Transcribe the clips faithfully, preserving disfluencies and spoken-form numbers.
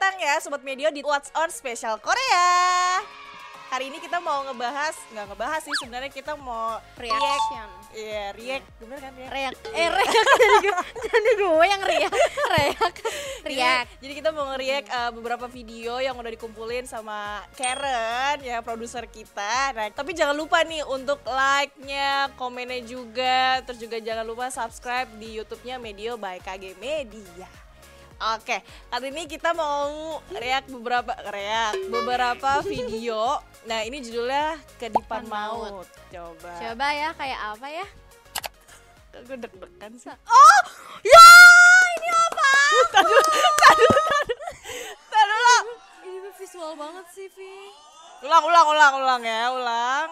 datang ya Sobat Medio di What's On Special Korea. Hari ini kita mau ngebahas, nggak ngebahas sih sebenarnya, kita mau reaction. Iya, react, bener kan react? React, eh react jadi gue, jadi gue yang react, react, react. Jadi, jadi kita mau nge-react uh, beberapa video yang udah dikumpulin sama Karen ya, produser kita. Nah, tapi jangan lupa nih untuk like-nya, komennya juga, terus juga jangan lupa subscribe di YouTube-nya Medio by K G Media. Oke, kali ini kita mau react beberapa react beberapa video. Nah, ini judulnya Kedipan Maut. Coba. Coba ya, kayak apa ya? Gue deg-degan sih. Oh, ya, ini apa? Tadu, tadu, tadu, tadu. Ini visual banget sih, Vi. Ulang, ulang, ulang, ulang ya, ulang.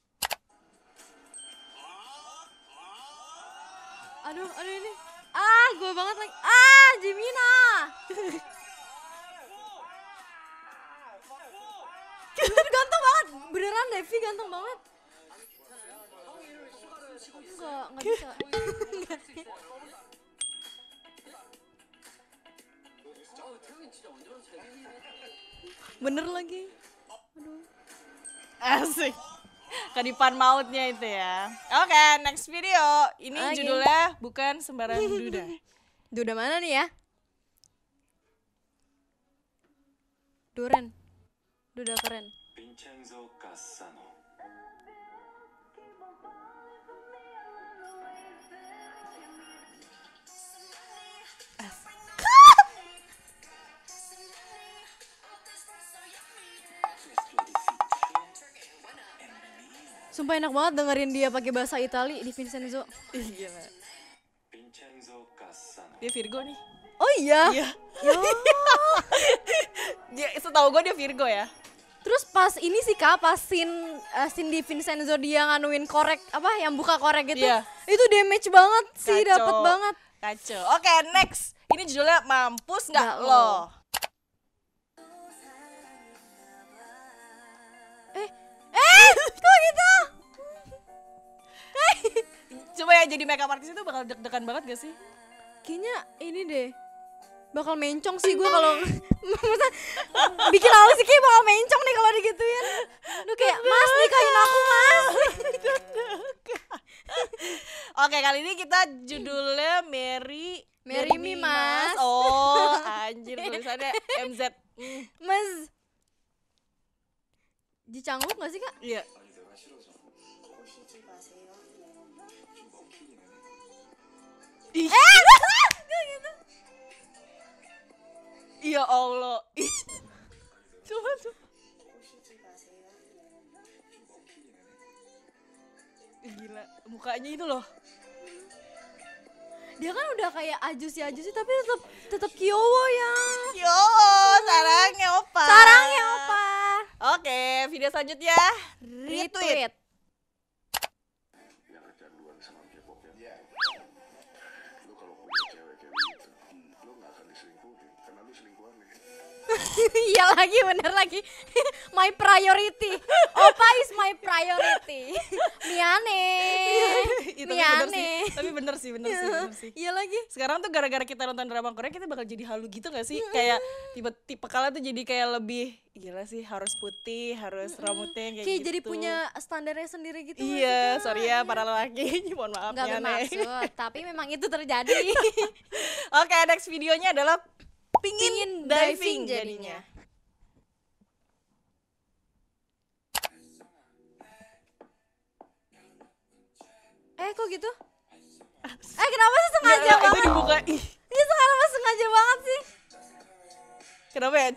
Aduh, aduh ini. Ah, gue banget lagi. Ah, Jimina. Ganteng banget. Beneran Devi ganteng banget. Enggak, enggak bisa. Bener lagi. Aduh. Asik. Kedipan mautnya itu ya. Oke, okay, next video. Ini okay. Judulnya bukan sembarang duda. Duda mana nih ya? Duren. Duda keren. Vincenzo Cassano. Sumpah enak banget dengerin dia pakai bahasa Itali di Vincenzo. Iya. Dia Virgo nih. Oh iya. Iya. Dia setahu gue dia Virgo ya. Terus pas ini sih Kak, pas scene, uh, scene di Vincenzo dia nganuin korek apa yang buka korek gitu. Iya. Itu damage banget sih, dapat banget. Kacau. Oke, okay, next. Ini judulnya Mampus Nggak Lo. Eh, eh, kok gitu? Coba ya jadi makeup artist itu bakal deg-degan banget gak sih? Kayaknya ini deh bakal mencong sih gue kalau bikin alis sih kayak bakal mencong nih kalau digituin. Lu kayak mas nikahin aku mas. Oke, kali ini kita judulnya Mary Mary Me Mas. Oh anjir, tulisannya M Z. mm. Mas Jicangguk gak sih Kak? Iya. Ih. Eh, gitu. Ya Allah. Ih. Coba coba. Gila, mukanya itu loh. Dia kan udah kayak ajusi-ajusi tapi tetap tetap Kyowo ya. Kyowo, sarangnya opa. Sarangnya opa. Oke, video selanjutnya retweet. Iya lagi, bener lagi. My priority. Opa is my priority. Miane. Miane. Tapi bener sih, bener sih, bener sih. Iya lagi. Sekarang tuh gara-gara kita nonton drama Korea, kita bakal jadi halu gitu gak sih? Kayak tipe tipe kala tuh jadi kayak lebih gila sih, harus putih, harus rambutnya kayak, kayak gitu. jadi punya standarnya sendiri gitu. Iya, sorry ya para lelaki. Mohon maaf ya. Gak bermaksud, tapi memang itu terjadi. Oke, next videonya adalah Pingin, Pingin diving, diving jadinya. Eh kok gitu? Eh kenapa sih sengaja Nggak, banget? Itu dibuka. Ih. Ini sekarang sengaja banget sih. Kenapa ya?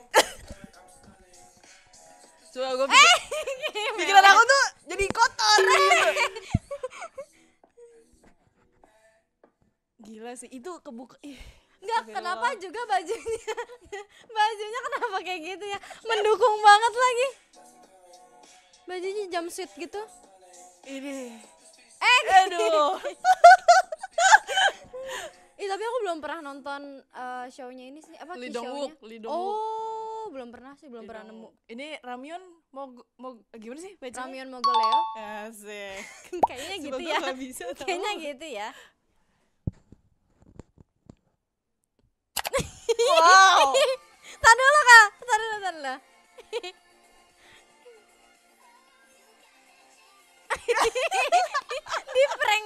Coba gue pikir, eh, pikiran aku tuh jadi kotor gitu. Gila sih, itu kebuka. Ih. Enggak, kenapa juga bajunya bajunya kenapa kayak gitu ya, mendukung banget lagi bajunya jumpsuit gitu. Ini eh aduh. Ih tapi aku belum pernah nonton uh, show-nya ini sih, apa Lee Dong-wook, Lee Dong-wook. Oh belum pernah sih, belum Lee pernah nemu. Ini Ramyeon mau mau gimana sih bacanya? Ramyeon Mogoleo. Asik. Kayaknya gitu ya. Bisa, kayaknya gitu ya. Wow. Tadi lo lah. Di prank.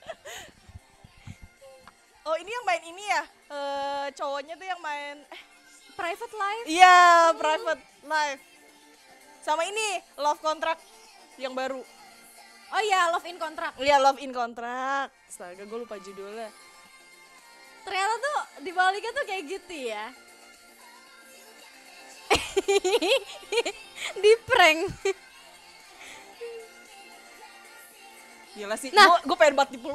Oh ini yang main ini ya, eh cowoknya tuh yang main eh Private life. iya Private Life. Sama ini Love Contract yang baru. Oh iya, Love in Contract. Iya Love in Contract. Astaga gue lupa judulnya. Ternyata tuh di baliknya tuh kayak gitu ya. Di prank. Gila sih, Nah. gue gue pengen banget dipeluk.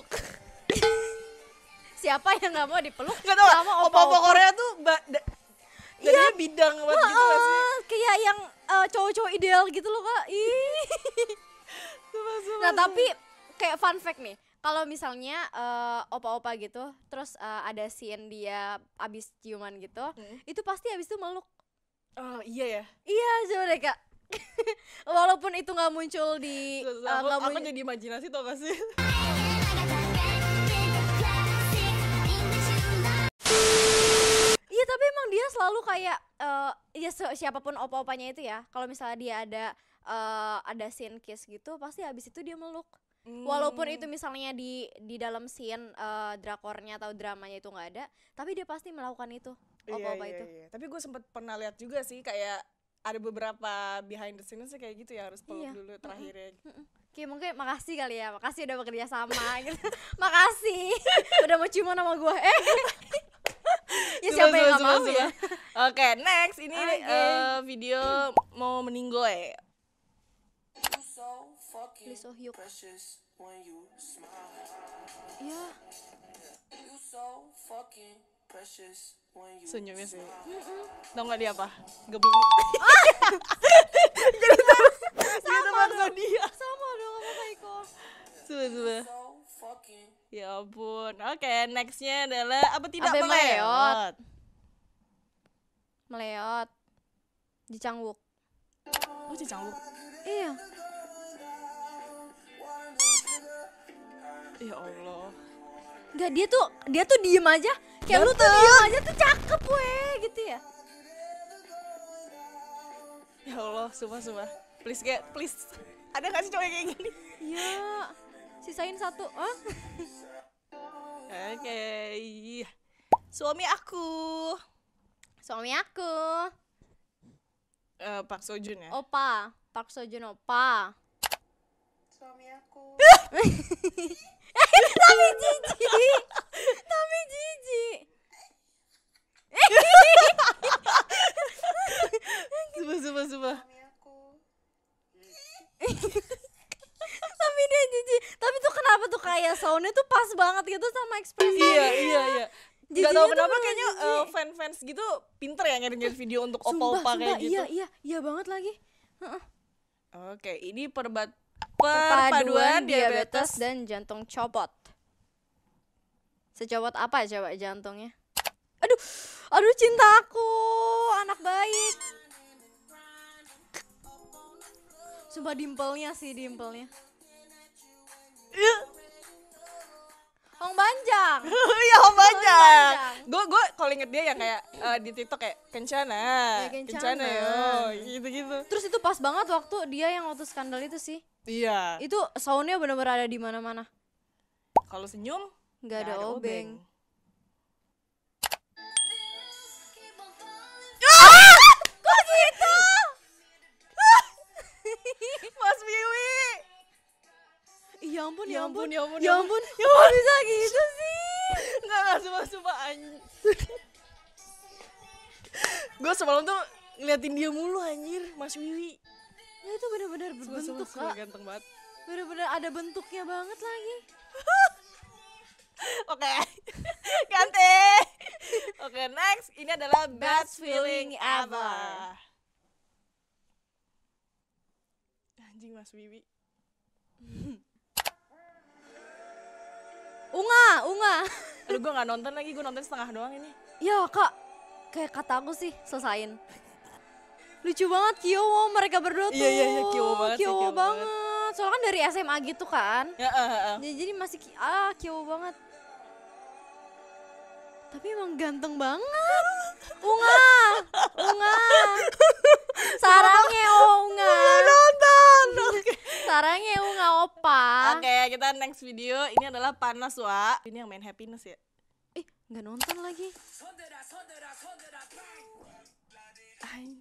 Siapa yang nggak mau dipeluk? Gak tau sama gak, opa-opa Korea tuh ba- da- jadinya bidang banget gitu gak sih? Heeh, kayak yang eh, cowok-cowok ideal gitu loh kak. Ih. Sumpah, sumpah, Nah sumpah. tapi kayak fun fact nih, kalau misalnya eh, opa-opa gitu, terus eh, ada scene dia abis ciuman gitu, Hmm. itu pasti abis itu meluk. Oh iya ya. Iya coba deh kak. Walaupun itu nggak muncul di Terus eh, aku, nggak aku muncul. jadi imajinasi tau gak sih? Iya tapi emang dia selalu kayak eh ya si- siapapun opa-opanya itu ya, kalau misalnya dia ada eh, ada scene kiss gitu, pasti abis itu dia meluk. Walaupun itu misalnya di di dalam scene eh, drakornya atau dramanya itu nggak ada, tapi dia pasti melakukan itu. Opa-opa iya, itu. Iya. Tapi gue sempet pernah lihat juga sih kayak ada beberapa behind the scenes kayak gitu ya, harus peluk Iya. dulu terakhirnya. Mm-mm. Kayak mungkin makasih kali ya, makasih udah bekerja sama gitu. Makasih udah mau ciuman sama gue. Eh. Ya siapa yang gak mau ya? Oke, next ini Oke. eh, video mau meninggoy. Lee So Hyuk. Precious when you smile. Iya. You so fucking precious when you Senyumnya sih. smile. Tau gak dia apa? Gebing. Gitu maksud dia. Sama dong apa Iko. Coba coba. So fucking Ya ampun. Oke, nextnya adalah apa tidak Abe meleot. meleot. Meleot. Ji Chang-wook. Oh, Cicanggu. Iya. Ya Allah. Enggak, dia tuh dia tuh diem aja. Kayak lu tuh diem aja tuh cakep weh gitu ya. Ya Allah, sumpah sumpah. Please kayak please. Ada gak sih cowok yang kayak gini? Iya. Sisain satu. Hah? Oke. Suami aku. Suami aku. Eh, Pak Sojun ya. Opa. Park Seo Joon opa. suami aku. Tapi jijik. Tapi jijik. Sumpah sumpah sumpah. Suami aku. Tapi dia jijik. Tapi tuh kenapa tuh kayak soundnya tuh pas banget gitu sama ekspresi. Iya iya iya. Gak Jijiknya tau tuh kenapa bener kayaknya jijik. eh, fan-fans gitu pinter ya ngirim video untuk Sumpah, opa-opa kayak sumpah, gitu. Iya, iya, iya banget lagi. Heeh. Oke, ini perbat Perpaduan perpaduan diabetes diabetes. dan jantung copot. Secopot apa coba jantungnya? Aduh, aduh cintaku, anak baik. Sumpah dimpelnya sih, dimpelnya. Hong Banjang. Iya, Om Banjang. Banjang. Gue gue kalau inget dia yang kayak eh, di TikTok kayak kencana, Ya, kencana. yo, gitu-gitu. Terus itu pas banget waktu dia yang waktu skandal itu sih. Iya. Itu soundnya bener-bener ada di mana-mana. Kalau senyum Nggak ada obeng. Kok gitu? Mas Wiwi. Ya ampun, Ya ampun, ya ampun, ya ya ampun, ya ampun bisa gitu sih. Enggak, enggak, sumpah-sumpah anjir. Gue semalam tuh ngeliatin dia mulu anjir, Mas Wiwi. Ya itu bener-bener Sumpah, berbentuk sumpah, kak. ganteng banget. Bener-bener ada bentuknya banget lagi. Oke, ganti. Oke, next. Ini adalah best feeling ever. Anjing Mas Wiwi. Unga, unga. Aduh, gue gak nonton lagi, gue nonton setengah doang ini. Ya kak, kayak kata aku sih selesain. Lucu banget Kyowo mereka berdua tuh. Iya, iya, iya, Kyowo banget sih, Kyowo Kyowo banget. Soalnya kan dari S M A gitu kan. Ya, uh, uh, uh. Jadi, jadi masih ki- ah Kyowo banget. Tapi emang ganteng banget. Unga, unga. Sarangnya unga. Nonton. Oke. Sarangnya unga opa. Oke, kita next video. Ini adalah panas, Wak. Ini yang main happiness ya. Ih, nggak nonton lagi. Ay.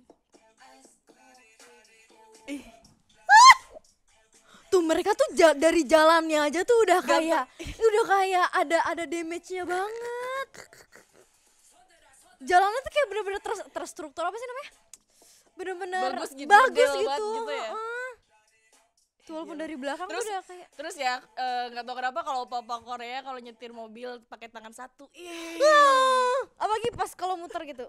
Tuh mereka tuh ja- dari jalannya aja tuh udah kayak udah kayak ada ada damage-nya banget. Jalannya tuh kayak bener-bener ter- terstruktur apa sih namanya? Bener-bener Bagus gitu, bagus model gitu. banget gitu ya. Heeh. Tuh walaupun dari belakang Terus tuh udah kayak terus ya eh, nggak tahu kenapa kalau opa-opa Korea kalau nyetir mobil pakai tangan satu. Ih. ah, apalagi pas kalau muter gitu.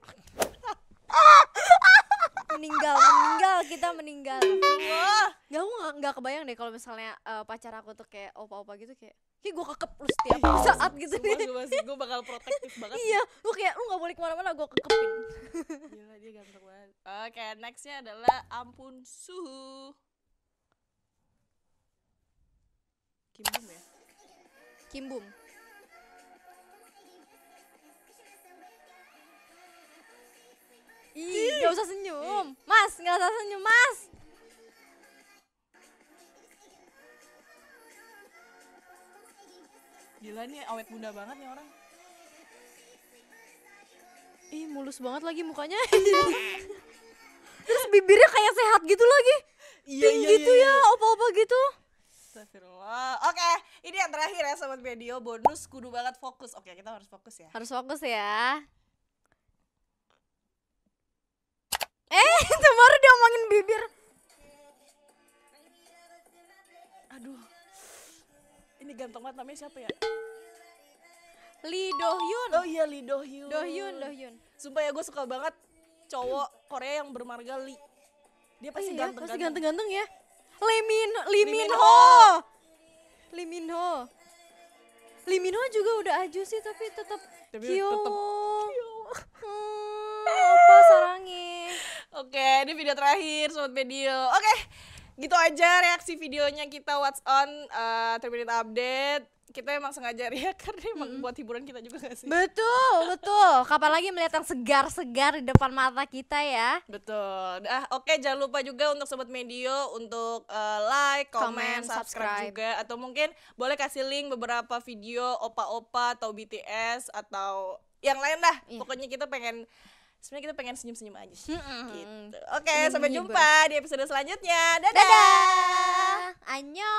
meninggal meninggal kita meninggal. Wah. Gak, aku gak, gak kebayang deh kalau misalnya uh, pacar aku tuh kayak opa-opa gitu kayak kayak gue kekep lu setiap saat gitu Semua nih. gue masih gue bakal protektif banget. Iya, lu kayak lu gak boleh kemana-mana, gue kekepin. Gila dia ganteng banget. Oke, nextnya adalah ampun suhu. Kim Bum ya. Kim Bum. Ih, gak usah senyum. Mas, gak usah senyum, Mas. Gila nih awet muda banget nih orang. Ih, mulus banget lagi mukanya. Terus bibirnya kayak sehat gitu lagi. Iya Pink gitu ya, opa-opa gitu. Astagfirullah. Oke, ini yang terakhir ya sobat video, bonus kudu banget fokus. Oke, kita harus fokus ya. Harus fokus ya. Eh, itu baru diomongin bibir. Aduh. Ini ganteng banget, namanya siapa ya? Lee Do Hyun. Oh iya, Lee Do Hyun. Do Hyun, Do Hyun. Sumpah ya gue suka banget cowok Korea yang bermarga Lee. Dia Oh pasti iya, ganteng. pasti ganteng-ganteng ya. Lee Min Lee Lee Min Min Ho. Ho. Lee Min Ho. Lee Min Ho juga udah aju sih tapi tetap Tapi Kyo. tetep Hmm, apa sarangnya? Oke, ini video terakhir sobat video. Oke, gitu aja reaksi videonya kita What's On uh, three minute update. Kita emang sengaja react karena emang Mm-mm. buat hiburan kita juga gak sih? Betul, betul. Kapan lagi melihat yang segar-segar di depan mata kita ya? Betul. Ah, oke, jangan lupa juga untuk sobat medio untuk uh, like, comment, Comment, subscribe, subscribe. juga atau mungkin boleh kasih link beberapa video opa-opa atau B T S atau yang lain dah. Iya. Pokoknya kita pengen sebenarnya kita pengen senyum-senyum aja sih. Mm-mm. Gitu. Oke, Ingin sampai menghibur. jumpa di episode selanjutnya. Dadah. Dadah. Annyeong.